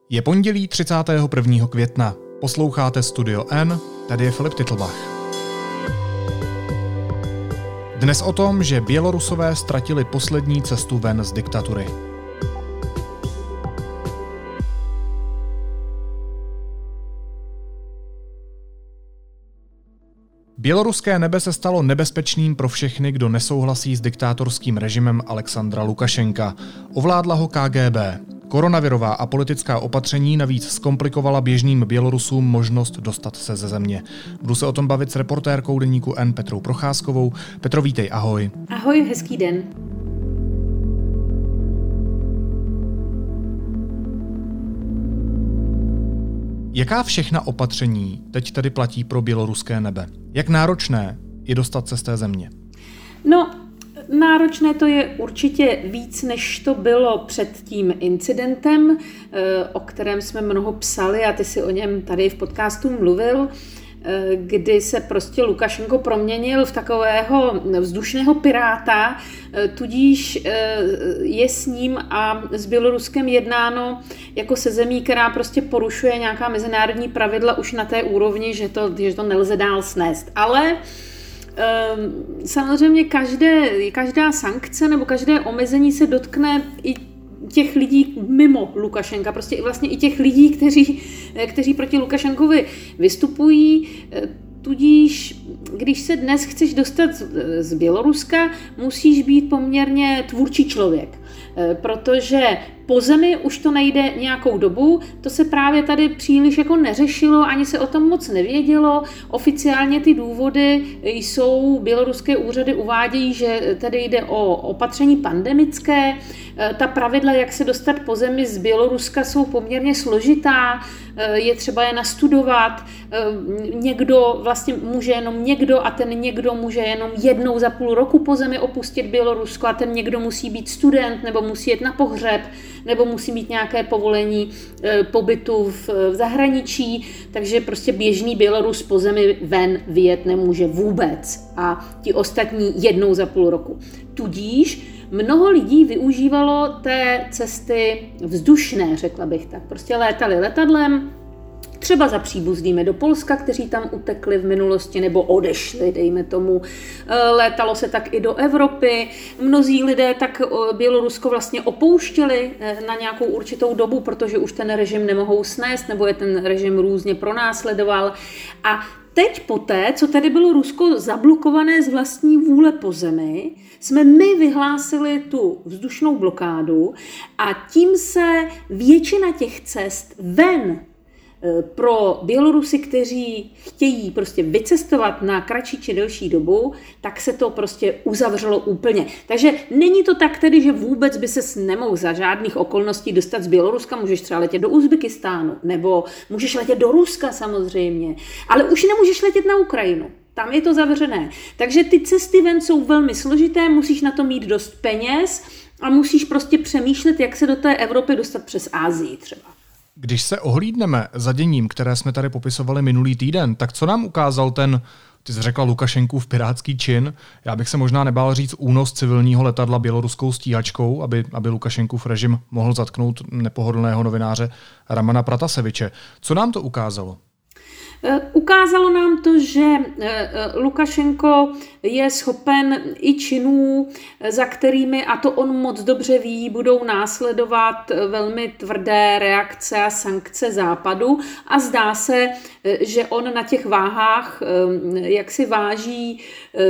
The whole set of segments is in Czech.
Je pondělí 31. května. Posloucháte Studio N, tady je Filip Titlbach. Dnes o tom, že Bělorusové ztratili poslední cestu ven z diktatury. Běloruské nebe se stalo nebezpečným pro všechny, kdo nesouhlasí s diktátorským režimem Alexandra Lukašenka. Ovládla ho KGB. Koronavirová a politická opatření navíc zkomplikovala běžným Bělorusům možnost dostat se ze země. Budu se o tom bavit s reportérkou deníku N Petrou Procházkovou. Petro, vítej, ahoj. Ahoj, hezký den. Jaká všechna opatření teď tedy platí pro běloruské nebe? Jak náročné je dostat se z té země? No, náročné to je určitě víc, než to bylo před tím incidentem, o kterém jsme mnoho psali a ty si o něm tady v podcastu mluvil, kdy se prostě Lukašenko proměnil v takového vzdušného piráta, tudíž je s ním a s Běloruskem jednáno jako se zemí, která prostě porušuje nějaká mezinárodní pravidla už na té úrovni, že to nelze dál snést. Ale samozřejmě každá sankce nebo každé omezení se dotkne i těch lidí mimo Lukašenka, prostě vlastně i těch lidí, kteří proti Lukašenkovi vystupují. Tudíž, když se dnes chceš dostat z Běloruska, musíš být poměrně tvůrčí člověk, protože po zemi už to nejde nějakou dobu, to se právě tady příliš jako neřešilo, ani se o tom moc nevědělo. Oficiálně ty důvody jsou, běloruské úřady uvádějí, že tady jde o opatření pandemické. Ta pravidla, jak se dostat po zemi z Běloruska, jsou poměrně složitá, je třeba je nastudovat. Někdo vlastně může jenom někdo a ten někdo může jenom jednou za půl roku po zemi opustit Bělorusko a ten někdo musí být student nebo musí jet na pohřeb nebo musí mít nějaké povolení pobytu v zahraničí, takže prostě běžný Bělorus po zemi ven vyjet nemůže vůbec a ti ostatní jednou za půl roku. Tudíž mnoho lidí využívalo té cesty vzdušné, řekla bych tak. Prostě létali letadlem, třeba za příbuznými do Polska, kteří tam utekli v minulosti nebo odešli, dejme tomu. Létalo se tak i do Evropy. Mnozí lidé tak Bělorusko vlastně opouštěli na nějakou určitou dobu, protože už ten režim nemohou snést, nebo je ten režim různě pronásledoval. A teď poté, co tady bylo Rusko zablokované z vlastní vůle po zemi, jsme my vyhlásili tu vzdušnou blokádu a tím se většina těch cest ven pro Bělorusy, kteří chtějí prostě vycestovat na kratší či delší dobu, tak se to prostě uzavřelo úplně. Takže není to tak tedy, že vůbec by ses nemohl za žádných okolností dostat z Běloruska, můžeš třeba letět do Uzbekistánu, nebo můžeš letět do Ruska samozřejmě, ale už nemůžeš letět na Ukrajinu. Tam je to zavřené. Takže ty cesty ven jsou velmi složité, musíš na to mít dost peněz a musíš prostě přemýšlet, jak se do té Evropy dostat přes Asii třeba. Když se ohlídneme za děním, které jsme tady popisovali minulý týden, tak co nám ukázal ty jsi řekla Lukašenkův pirátský čin, já bych se možná nebál říct únos civilního letadla běloruskou stíhačkou, aby Lukašenkův režim mohl zatknout nepohodlného novináře Ramana Prataseviče. Co nám to ukázalo? Ukázalo nám to, že Lukašenko je schopen i činů, za kterými, a to on moc dobře ví, budou následovat velmi tvrdé reakce a sankce Západu a zdá se, že on na těch váhách jak si váží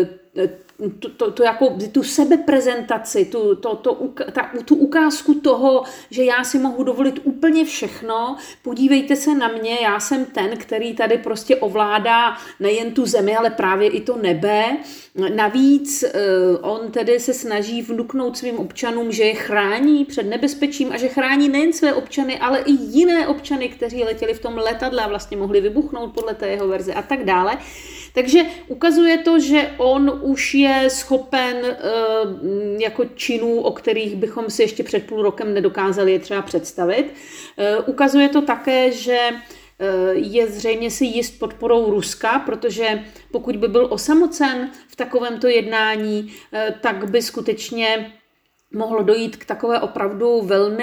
tu sebeprezentaci, tu ukázku toho, že já si mohu dovolit úplně všechno, podívejte se na mě, já jsem ten, který tady prostě ovládá nejen tu zemi, ale právě i to nebe. Navíc on tedy se snaží vnuknout svým občanům, že je chrání před nebezpečím a že chrání nejen své občany, ale i jiné občany, kteří letěli v tom letadle a vlastně mohli vybuchnout podle té jeho verze a tak dále. Takže ukazuje to, že on už je schopen jako činů, o kterých bychom si ještě před půl rokem nedokázali je třeba představit. Ukazuje to také, že je zřejmě si jist podporou Ruska, protože pokud by byl osamocen v takovémto jednání, tak by skutečně mohlo dojít k takové opravdu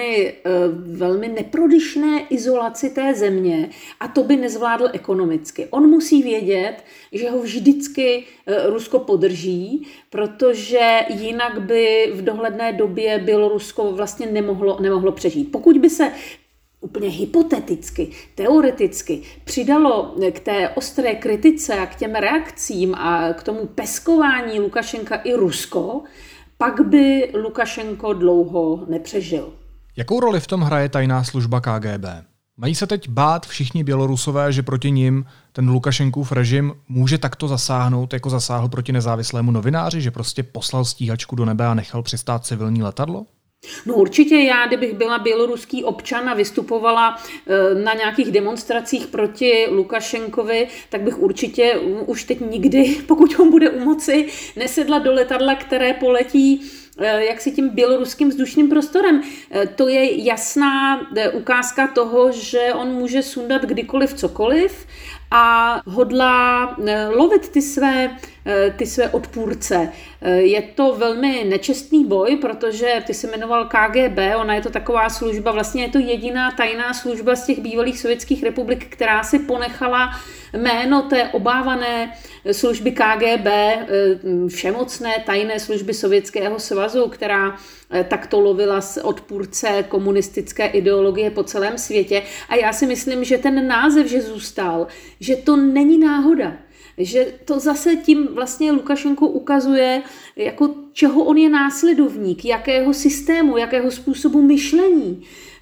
velmi neprodyšné izolaci té země a to by nezvládl ekonomicky. On musí vědět, že ho vždycky Rusko podrží, protože jinak by v dohledné době Bělorusko vlastně nemohlo přežít. Pokud by se úplně hypoteticky, teoreticky přidalo k té ostré kritice a k těm reakcím a k tomu peskování Lukašenka i Rusko, pak by Lukašenko dlouho nepřežil. Jakou roli v tom hraje tajná služba KGB? Mají se teď bát všichni Bělorusové, že proti nim ten Lukašenkův režim může takto zasáhnout, jako zasáhl proti nezávislému novináři, že prostě poslal stíhačku do nebe a nechal přistát civilní letadlo? No určitě já, kdybych byla běloruský občan a vystupovala na nějakých demonstracích proti Lukašenkovi, tak bych určitě už teď nikdy, pokud on bude u moci, nesedla do letadla, které poletí jaksi tím běloruským vzdušným prostorem. To je jasná ukázka toho, že on může sundat kdykoliv cokoliv a hodlá lovit ty své odpůrce. Je to velmi nečestný boj, protože ty se jmenoval KGB, ona je to taková služba, vlastně je to jediná tajná služba z těch bývalých sovětských republik, která si ponechala jméno té obávané služby KGB, všemocné tajné služby Sovětského svazu, která takto lovila odpůrce komunistické ideologie po celém světě. A já si myslím, že ten název, že zůstal, že to není náhoda. Že to zase tím vlastně Lukašenko ukazuje, jako čeho on je následovník, jakého systému, jakého způsobu myšlení,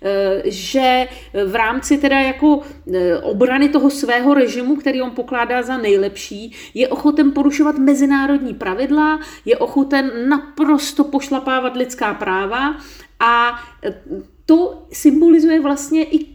že v rámci teda jako obrany toho svého režimu, který on pokládá za nejlepší, je ochoten porušovat mezinárodní pravidla, je ochoten naprosto pošlapávat lidská práva a to symbolizuje vlastně i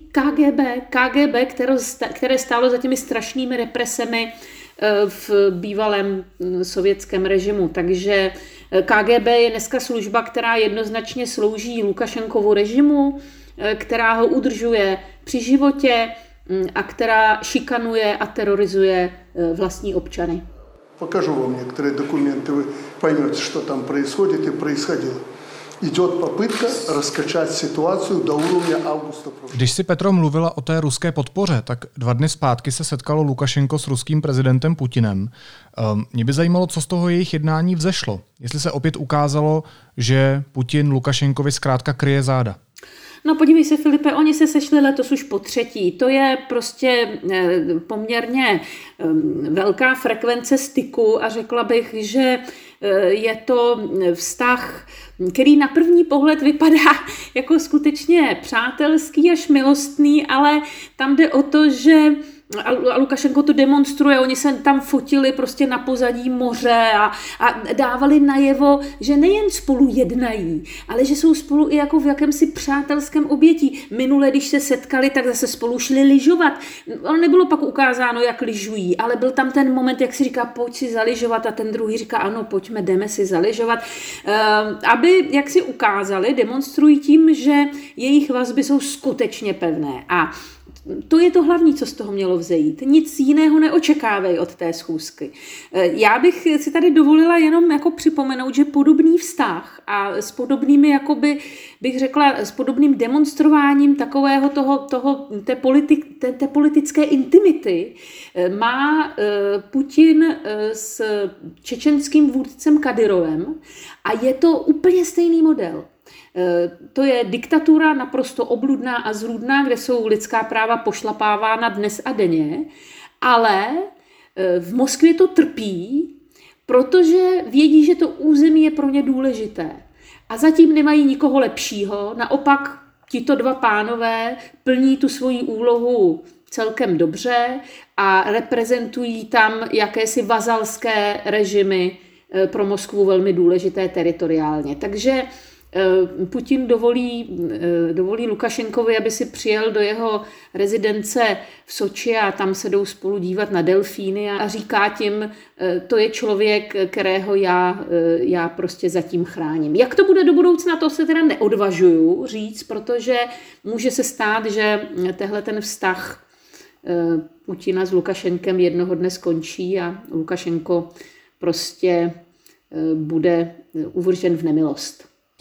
KGB, které stálo za těmi strašnými represemi v bývalém sovětském režimu. Takže KGB je dneska služba, která jednoznačně slouží Lukašenkovu režimu, která ho udržuje při životě a která šikanuje a terorizuje vlastní občany. Покажу вам некоторые документы, вы поймете, что там происходит и происходило. Идет попытка раскачать ситуацию до уровня августа. Když si Petro mluvila o té ruské podpoře, tak 2 dny zpátky se setkalo Lukašenko s ruským prezidentem Putinem. Mě by zajímalo, co z toho jejich jednání vzešlo. Jestli se opět ukázalo, že Putin Lukašenkovi zkrátka kryje záda. No podívej se, Filipe, oni se sešli letos už po 3. To je prostě poměrně velká frekvence styku a řekla bych, že je to vztah, který na první pohled vypadá jako skutečně přátelský až milostný, ale tam jde o to, že a Lukašenko to demonstruje, oni se tam fotili prostě na pozadí moře a dávali najevo, že nejen spolu jednají, ale že jsou spolu i jako v jakémsi přátelském obětí. Minule, když se setkali, tak zase spolu šli lyžovat. Ono nebylo pak ukázáno, jak lyžují, ale byl tam ten moment, jak si říká, pojď si zalyžovat a ten druhý říká, ano, pojďme, jdeme si zalyžovat. Aby, jak si ukázali, demonstrují tím, že jejich vazby jsou skutečně pevné. A to je to hlavní, co z toho mělo vzejít. Nic jiného neočekávej od té schůzky. Já bych si tady dovolila jenom jako připomenout, že podobný vztah a s podobnými, jakoby, bych řekla, s podobným demonstrováním takového té politické intimity má Putin s čečenským vůdcem Kadyrovem a je to úplně stejný model. To je diktatura naprosto obludná a zrůdná, kde jsou lidská práva pošlapávána dnes a denně, ale v Moskvě to trpí, protože vědí, že to území je pro ně důležité. A zatím nemají nikoho lepšího, naopak tito 2 pánové plní tu svoji úlohu celkem dobře a reprezentují tam jakési vazalské režimy pro Moskvu velmi důležité teritoriálně. Takže Putin dovolí Lukašenkovi, aby si přijel do jeho rezidence v Soči a tam se jdou spolu dívat na delfíny a říká tím, to je člověk, kterého já prostě zatím chráním. Jak to bude do budoucna, to se teda neodvažuju říct, protože může se stát, že tehle ten vztah Putina s Lukašenkem jednoho dne skončí a Lukašenko prostě bude uvržen v nemilost.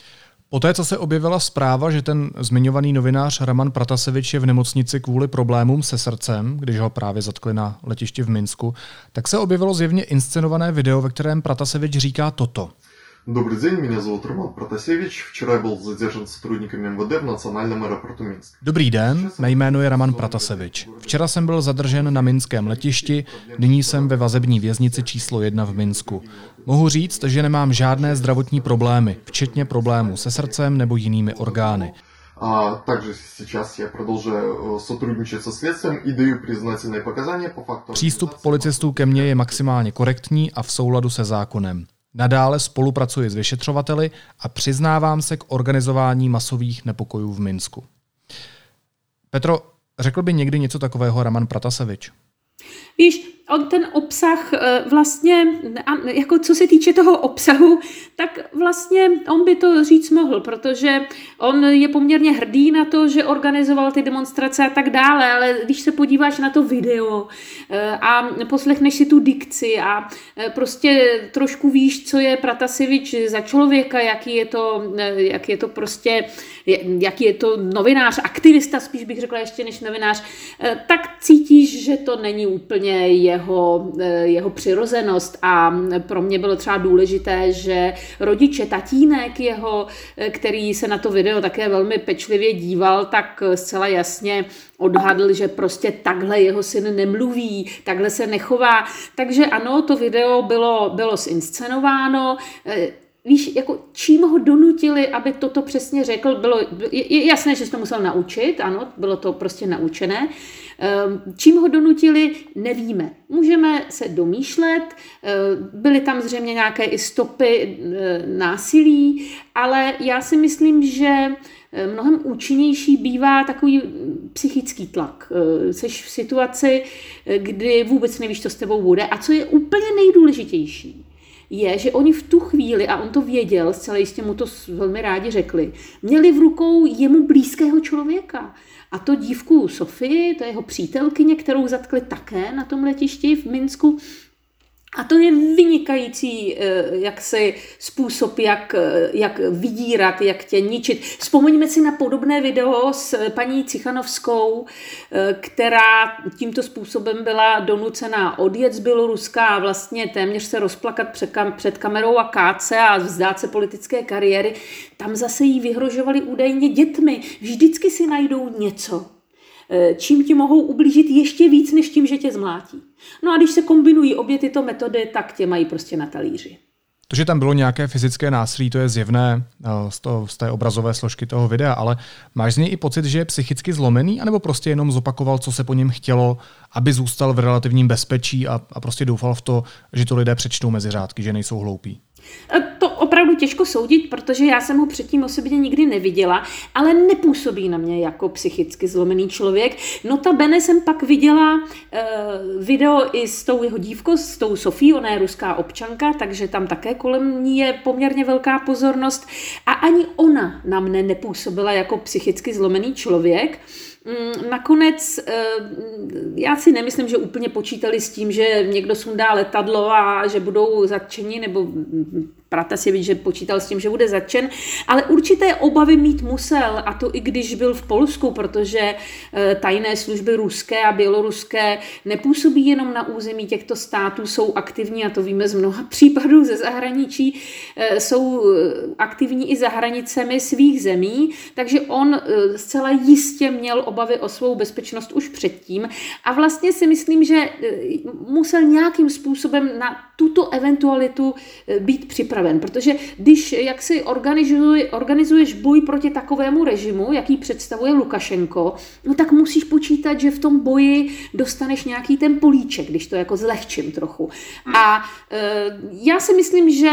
Poté, co se objevila zpráva, že ten zmiňovaný novinář Raman Pratasevič je v nemocnici kvůli problémům se srdcem, když ho právě zatkli na letišti v Minsku, tak se objevilo zjevně inscenované video, ve kterém Pratasevič říká toto. Dobrý den, mě zовут Роман Протасевич. Včera byl zadržen сотрудниками МВД v nacionálním aeroportu Minsk. Dobrý den, mé jméno je Raman Pratasevič. Včera jsem byl zadržen na minském letišti, nyní jsem ve vazební věznici číslo 1 v Minsku. Mohu říct, že nemám žádné zdravotní problémy, včetně problémů se srdcem nebo jinými orgány. A takže сейчас я продолжаю сотрудничать со следствием и даю признательные показания по факту. Přístup policistů ke mně je maximálně korektní a v souladu se zákonem. Nadále spolupracuji s vyšetřovateli a přiznávám se k organizování masových nepokojů v Minsku. Petro, řekl by někdy něco takového Raman Pratasevič? Víš, on ten obsah vlastně, jako co se týče toho obsahu, tak vlastně on by to říct mohl, protože on je poměrně hrdý na to, že organizoval ty demonstrace a tak dále, ale když se podíváš na to video a poslechneš si tu dikci a prostě trošku víš, co je Pratasevič za člověka, jaký je to novinář, aktivista, spíš bych řekla ještě než novinář, tak cítíš, že to není úplně jeho přirozenost a pro mě bylo třeba důležité, že rodiče, tatínek jeho, který se na to video také velmi pečlivě díval, tak zcela jasně odhadl, že prostě takhle jeho syn nemluví, takhle se nechová. Takže ano, to video bylo zinscenováno. Víš, jako čím ho donutili, aby toto přesně řekl, je jasné, že se to musel naučit, ano, bylo to prostě naučené. Čím ho donutili, nevíme. Můžeme se domýšlet, byly tam zřejmě nějaké i stopy násilí, ale já si myslím, že mnohem účinnější bývá takový psychický tlak. Seš v situaci, kdy vůbec nevíš, co s tebou bude. A co je úplně nejdůležitější, je, že oni v tu chvíli, a on to věděl, zcela jistě mu to velmi rádi řekli, měli v rukou jemu blízkého člověka. A to dívku Sofii, to je jeho přítelkyně, kterou zatkli také na tom letišti v Minsku. A to je vynikající způsob, jak vydírat, jak tě ničit. Vzpomeňme si na podobné video s paní Cichanovskou, která tímto způsobem byla donucena odjet z Běloruska a vlastně téměř se rozplakat před kamerou a káce a vzdát se politické kariéry. Tam zase jí vyhrožovali údajně dětmi. Vždycky si najdou něco, čím ti mohou ublížit ještě víc, než tím, že tě zmlátí. No a když se kombinují obě tyto metody, tak tě mají prostě na talíři. To, že tam bylo nějaké fyzické násilí, to je zjevné z té obrazové složky toho videa, ale máš z něj i pocit, že je psychicky zlomený, anebo prostě jenom zopakoval, co se po něm chtělo, aby zůstal v relativním bezpečí a prostě doufal v to, že to lidé přečtou mezi řádky, že nejsou hloupí? To opravdu těžko soudit, protože já jsem ho předtím osobně nikdy neviděla, ale nepůsobí na mě jako psychicky zlomený člověk. Notabene jsem pak viděla video i s tou jeho dívkou, s tou Sofí, ona je ruská občanka, takže tam také kolem ní je poměrně velká pozornost a ani ona na mne nepůsobila jako psychicky zlomený člověk. Nakonec já si nemyslím, že úplně počítali s tím, že někdo sundá letadlo a že budou zatčeni, nebo Pratasevič, že počítal s tím, že bude zatčen, ale určité obavy mít musel, a to i když byl v Polsku, protože tajné služby ruské a běloruské nepůsobí jenom na území těchto států, jsou aktivní, a to víme z mnoha případů ze zahraničí, jsou aktivní i za hranicemi svých zemí, takže on zcela jistě měl obavy o svou bezpečnost už předtím a vlastně si myslím, že musel nějakým způsobem na tuto eventualitu být připraven, protože když jak si organizuješ boj proti takovému režimu, jaký představuje Lukašenko, no tak musíš počítat, že v tom boji dostaneš nějaký ten políček, když to jako zlehčím trochu. A já si myslím, že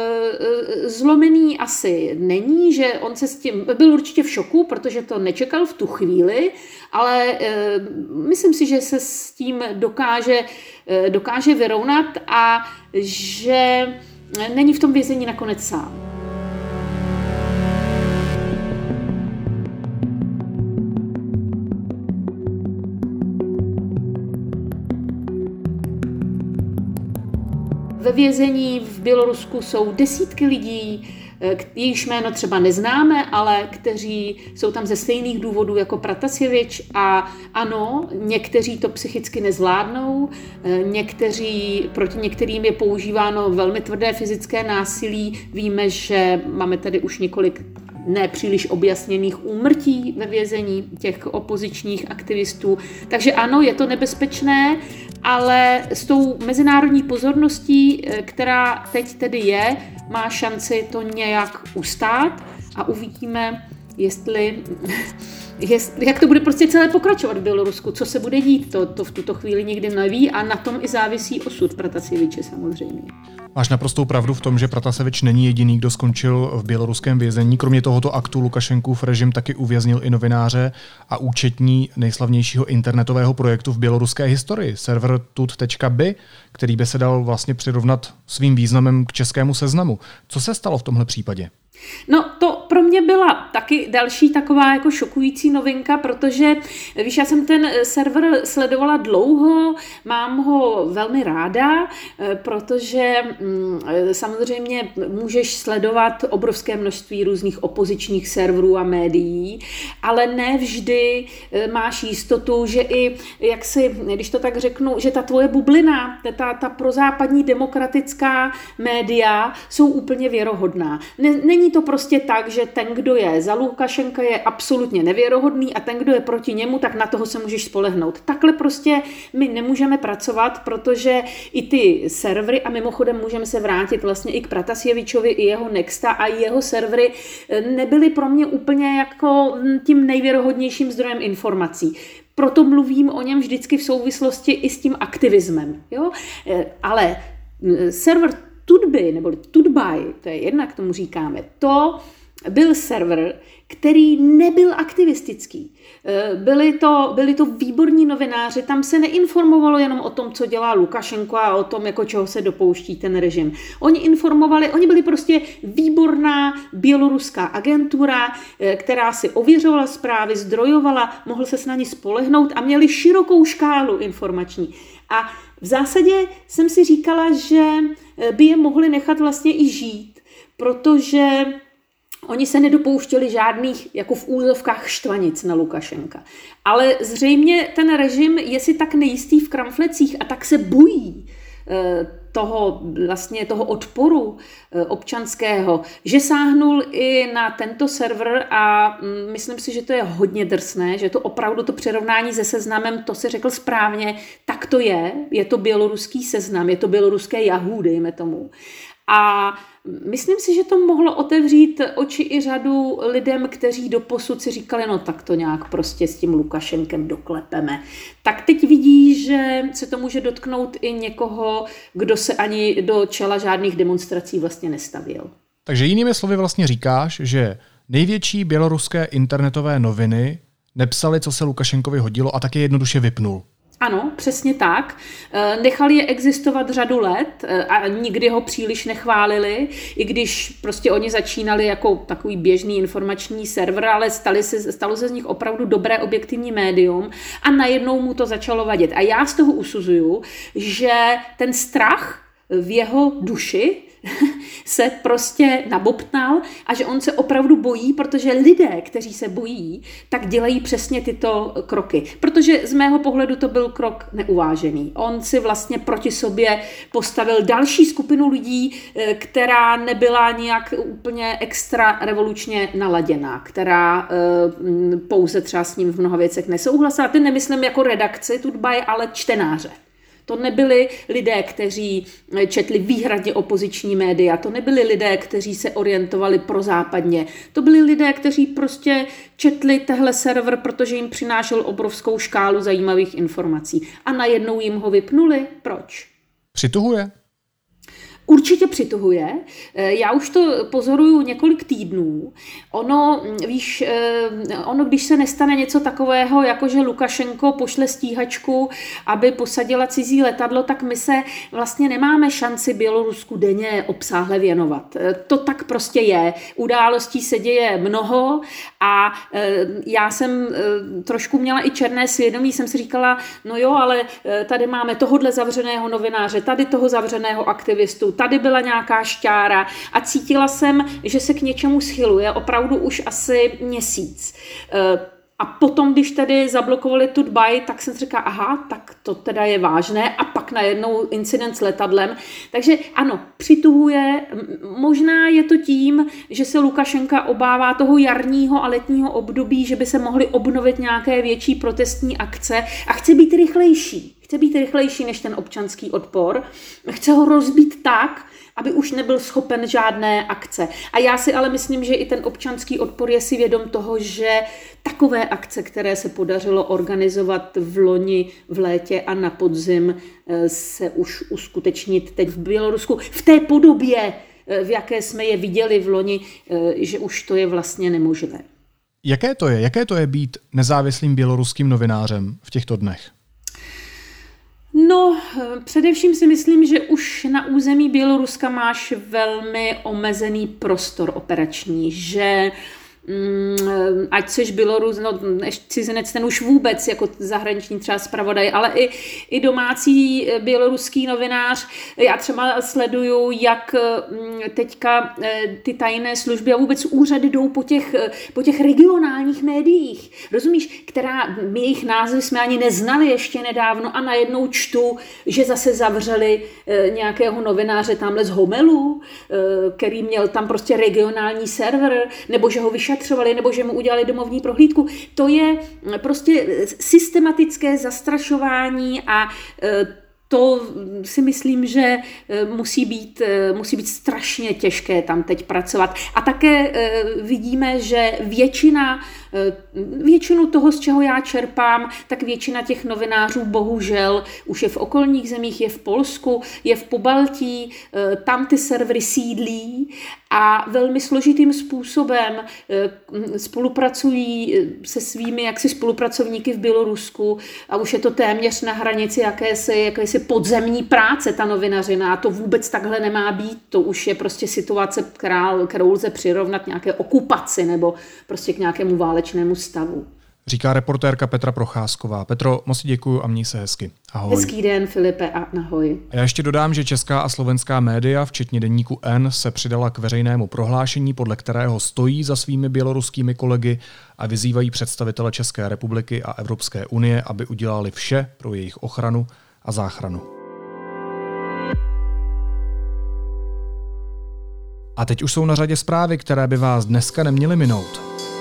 zlomený asi není, že on se s tím byl určitě v šoku, protože to nečekal v tu chvíli, ale myslím si, že se s tím dokáže vyrovnat a že není v tom vězení nakonec sám. Ve vězení v Bělorusku jsou desítky lidí, jejichž jméno třeba neznáme, ale kteří jsou tam ze stejných důvodů jako Pratasjevič a ano, někteří to psychicky nezvládnou, proti některým je používáno velmi tvrdé fyzické násilí. Víme, že máme tady už několik nepříliš objasněných úmrtí ve vězení těch opozičních aktivistů. Takže ano, je to nebezpečné, ale s tou mezinárodní pozorností, která teď tedy je, má šanci to nějak ustát a uvidíme, jak to bude prostě celé pokračovat v Bělorusku, co se bude dít, to v tuto chvíli nikdy neví a na tom i závisí osud Pratasjeviče samozřejmě. Máš naprostou pravdu v tom, že Pratasjevič není jediný, kdo skončil v běloruském vězení. Kromě tohoto aktu Lukašenkův režim taky uvěznil i novináře a účetní nejslavnějšího internetového projektu v běloruské historii, server tut.by, který by se dal vlastně přirovnat svým významem k českému Seznamu. Co se stalo v tomhle případě? No to pro mě byla taky další taková jako šokující novinka, protože víš, já jsem ten server sledovala dlouho, mám ho velmi ráda, protože samozřejmě můžeš sledovat obrovské množství různých opozičních serverů a médií, ale ne vždy máš jistotu, že i, když to tak řeknu, že ta tvoje bublina, ta prozápadní demokratická média jsou úplně věrohodná. Není to prostě tak, že ten, kdo je za Lukašenka, je absolutně nevěrohodný a ten, kdo je proti němu, tak na toho se můžeš spolehnout. Takhle prostě my nemůžeme pracovat, protože i ty servery, a mimochodem můžeme se vrátit vlastně i k Pratasjevičovi, i jeho Nexta a jeho servery, nebyly pro mě úplně jako tím nejvěrohodnějším zdrojem informací. Proto mluvím o něm vždycky v souvislosti i s tím aktivismem. Jo? Ale server Tutby, nebo Tutbaj, to je jednak tomu říkáme, to byl server, který nebyl aktivistický. Byli to výborní novináři, tam se neinformovalo jenom o tom, co dělá Lukašenko a o tom, jako čeho se dopouští ten režim. Oni byli prostě výborná běloruská agentura, která si ověřovala zprávy, zdrojovala, mohl se na ní spolehnout a měli širokou škálu informační. A v zásadě jsem si říkala, že by je mohli nechat vlastně i žít, protože oni se nedopouštěli žádných, jako v úzovkách, štvanic na Lukašenka. Ale zřejmě ten režim je si tak nejistý v kramflecích a tak se bojí toho odporu občanského, že sáhnul i na tento server a myslím si, že to je hodně drsné, že to opravdu to přirovnání se Seznamem, to se řekl správně, tak to je to běloruský Seznam, je to běloruské Yahoo, dejme tomu. A myslím si, že to mohlo otevřít oči i řadu lidem, kteří doposud si říkali, no tak to nějak prostě s tím Lukašenkem doklepeme. Tak teď vidí, že se to může dotknout i někoho, kdo se ani do čela žádných demonstrací vlastně nestavil. Takže jinými slovy vlastně říkáš, že největší běloruské internetové noviny nepsali, co se Lukašenkovi hodilo a tak je jednoduše vypnul. Ano, přesně tak. Nechali je existovat řadu let a nikdy ho příliš nechválili, i když prostě oni začínali jako takový běžný informační server, ale stalo se z nich opravdu dobré objektivní médium a najednou mu to začalo vadit. A já z toho usuzuju, že ten strach v jeho duši se prostě nabobtnal a že on se opravdu bojí, protože lidé, kteří se bojí, tak dělají přesně tyto kroky. Protože z mého pohledu to byl krok neuvážený. On si vlastně proti sobě postavil další skupinu lidí, která nebyla nějak úplně extra revolučně naladěná, která pouze třeba s ním v mnoha věcech nesouhlasila. Ty nemyslím jako redakci Tutbaj, ale čtenáře. To nebyli lidé, kteří četli výhradně opoziční média, to nebyli lidé, kteří se orientovali prozápadně. To byli lidé, kteří prostě četli tehle server, protože jim přinášel obrovskou škálu zajímavých informací. A najednou jim ho vypnuli. Proč? Přituhuje? Určitě přituhuje. Já už to pozoruju několik týdnů. Ono, když se nestane něco takového, jako že Lukašenko pošle stíhačku, aby posadila cizí letadlo, tak my se vlastně nemáme šanci Bělorusku denně obsáhle věnovat. To tak prostě je. Událostí se děje mnoho a já jsem trošku měla i černé svědomí, jsem si říkala, no jo, ale tady máme tohodle zavřeného novináře, tady toho zavřeného aktivistu, tady byla nějaká šťára a cítila jsem, že se k něčemu schyluje opravdu už asi měsíc. A potom, když tedy zablokovali tu Dbaj, tak jsem si říkala, aha, tak to teda je vážné. A pak najednou incident s letadlem. Takže ano, přituhuje. Možná je to tím, že se Lukašenka obává toho jarního a letního období, že by se mohly obnovit nějaké větší protestní akce a chce být rychlejší. Chce být rychlejší než ten občanský odpor. Chce ho rozbít tak, aby už nebyl schopen žádné akce. A já si ale myslím, že i ten občanský odpor je si vědom toho, že takové akce, které se podařilo organizovat v loni, v létě a na podzim, se už uskutečnit teď v Bělorusku v té podobě, v jaké jsme je viděli v loni, že už to je vlastně nemožné. Jaké to je být nezávislým běloruským novinářem v těchto dnech? No, především si myslím, že už na území Běloruska máš velmi omezený prostor operační, že ať seš Bělorus, no cizinec, ten už vůbec jako zahraniční třeba zpravodaj, ale i domácí běloruský novinář. Já třeba sleduju, jak teďka ty tajné služby a vůbec úřady jdou po těch regionálních médiích. Rozumíš, jejich názvy jsme ani neznali ještě nedávno a najednou čtu, že zase zavřeli nějakého novináře tamhle z Homelu, který měl tam prostě regionální server, nebo že ho vyšetřovali, nebo že mu udělali domovní prohlídku. To je prostě systematické zastrašování a to si myslím, že musí být strašně těžké tam teď pracovat. A také vidíme, že většinu toho, z čeho já čerpám, tak většina těch novinářů bohužel už je v okolních zemích, je v Polsku, je v Pobaltí, tam ty servery sídlí a velmi složitým způsobem spolupracují se svými jaksi spolupracovníky v Bělorusku a už je to téměř na hranici jakési podzemní práce, ta novinařina. A to vůbec takhle nemá být. To už je prostě situace, kterou lze přirovnat nějaké okupaci nebo prostě k nějakému válečnému stavu. Říká reportérka Petra Procházková. Petro, moc děkuju a měj se hezky. Ahoj. Hezký den, Filipe, a ahoj. A já ještě dodám, že česká a slovenská média, včetně deníku N, se přidala k veřejnému prohlášení, podle kterého stojí za svými běloruskými kolegy a vyzývají představitele České republiky a Evropské unie, aby udělali vše pro jejich ochranu a záchranu. A teď už jsou na řadě zprávy, které by vás dneska neměly minout.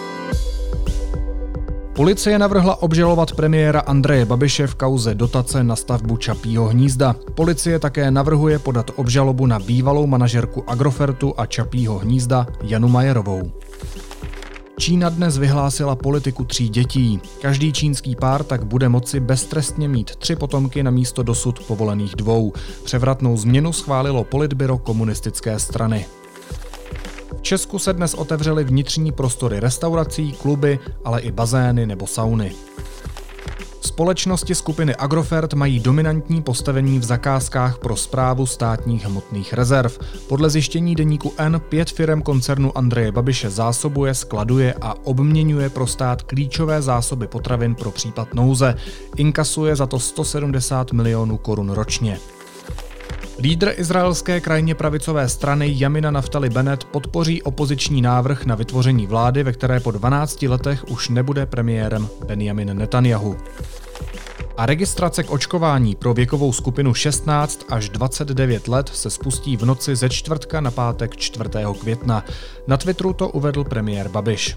Policie navrhla obžalovat premiéra Andreje Babiše v kauze dotace na stavbu Čapího hnízda. Policie také navrhuje podat obžalobu na bývalou manažerku Agrofertu a Čapího hnízda Janu Majerovou. Čína dnes vyhlásila politiku 3 dětí. Každý čínský pár tak bude moci beztrestně mít 3 potomky na místo dosud povolených 2. Převratnou změnu schválilo politbyro komunistické strany. V Česku se dnes otevřely vnitřní prostory restaurací, kluby, ale i bazény nebo sauny. Společnosti skupiny Agrofert mají dominantní postavení v zakázkách pro správu státních hmotných rezerv. Podle zjištění deníku N 5 firem koncernu Andreje Babiše zásobuje, skladuje a obměňuje pro stát klíčové zásoby potravin pro případ nouze. Inkasuje za to 170 milionů korun ročně. Lídr izraelské krajně pravicové strany Jamina Naftali Bennett podpoří opoziční návrh na vytvoření vlády, ve které po 12 letech už nebude premiérem Benjamin Netanjahu. A registrace k očkování pro věkovou skupinu 16 až 29 let se spustí v noci ze čtvrtka na pátek 4. května. Na Twitteru to uvedl premiér Babiš.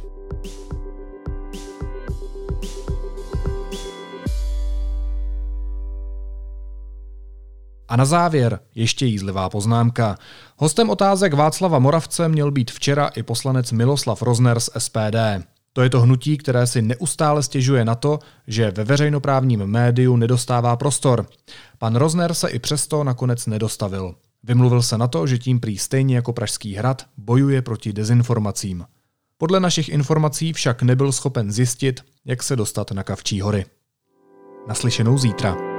A na závěr ještě jízlivá poznámka. Hostem otázek Václava Moravce měl být včera i poslanec Miloslav Rozner z SPD. To je to hnutí, které si neustále stěžuje na to, že ve veřejnoprávním médiu nedostává prostor. Pan Rozner se i přesto nakonec nedostavil. Vymluvil se na to, že tím prý stejně jako Pražský hrad bojuje proti dezinformacím. Podle našich informací však nebyl schopen zjistit, jak se dostat na Kavčí hory. Naslyšenou zítra.